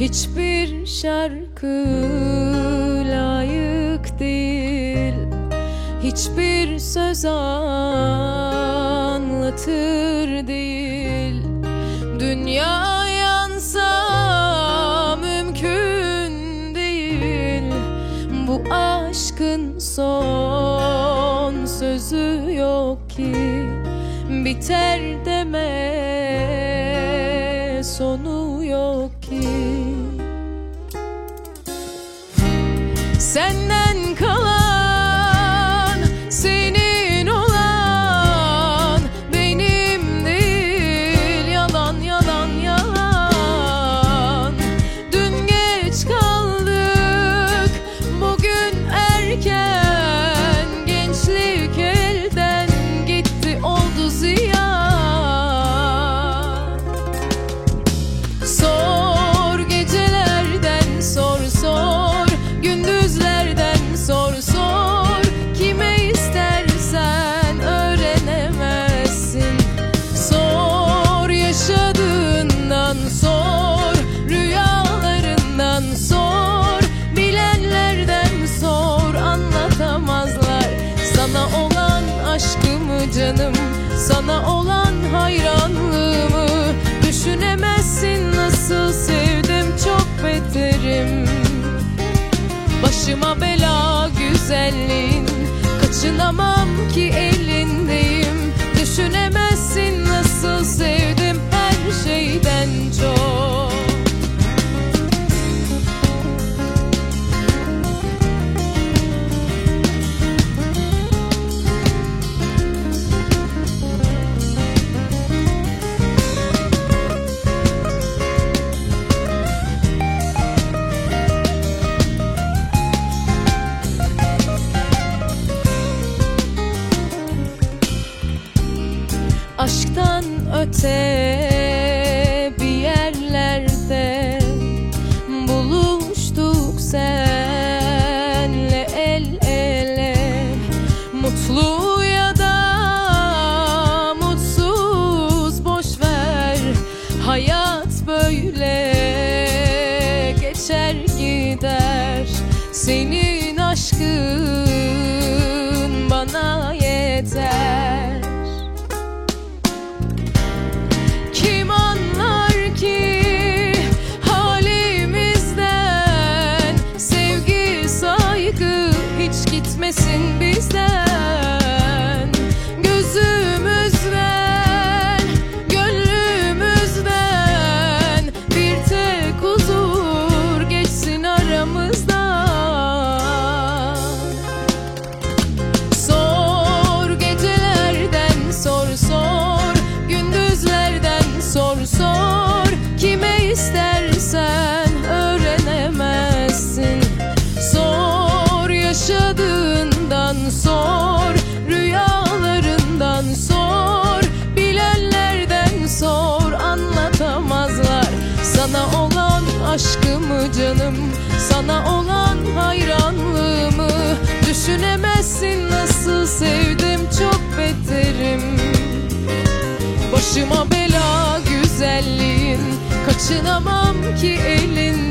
Hiçbir şarkı layık değil, hiçbir söz anlatır değil. Dünya yansa mümkün değil, bu aşkın son sözü yok ki. Biter deme, sonu yok ki. Senden kalan, senin olan benim değil. Yalan, yalan, yalan. Dün geç kaldık, bugün erken. Gençlik elden gitti, oldu ziyan. Sor gecelerden, sor sor. Gündüzlerden sor sor. Kime istersen öğrenemezsin. Sor yaşadığından sor. Rüyalarından sor. Bilenlerden sor, anlatamazlar sana olan aşkımı canım, sana olan hayranlığımı. Düşünemezsin nasıl sevdim, çok beterim. Başıma bela güzelliğin, kaçınamam ki elindeyim. Düşünemezsin nasıl sevdim, her şeyden çok. Aşktan öte bir yerlerde buluştuk senle el ele. Mutlu ya da mutsuz boşver, hayat böyle geçer gider. Senin aşkın bana yeter. Gitmesin bizden, gözümüzden, gönlümüzden. Bir tek huzur geçsin aramızdan. Sor gecelerden, sor sor. Gündüzlerden sor sor. Kime istersen öğrenemezsin. Sor yaşadığından sor. Rüyalarından sor. Bilenlerden sor, anlatamazlar sana olan aşkımı canım, sana olan hayranlığımı. Düşünemezsin nasıl sevdim, çok beterim. Başıma bela güzelliğin, kaçınamam ki elin.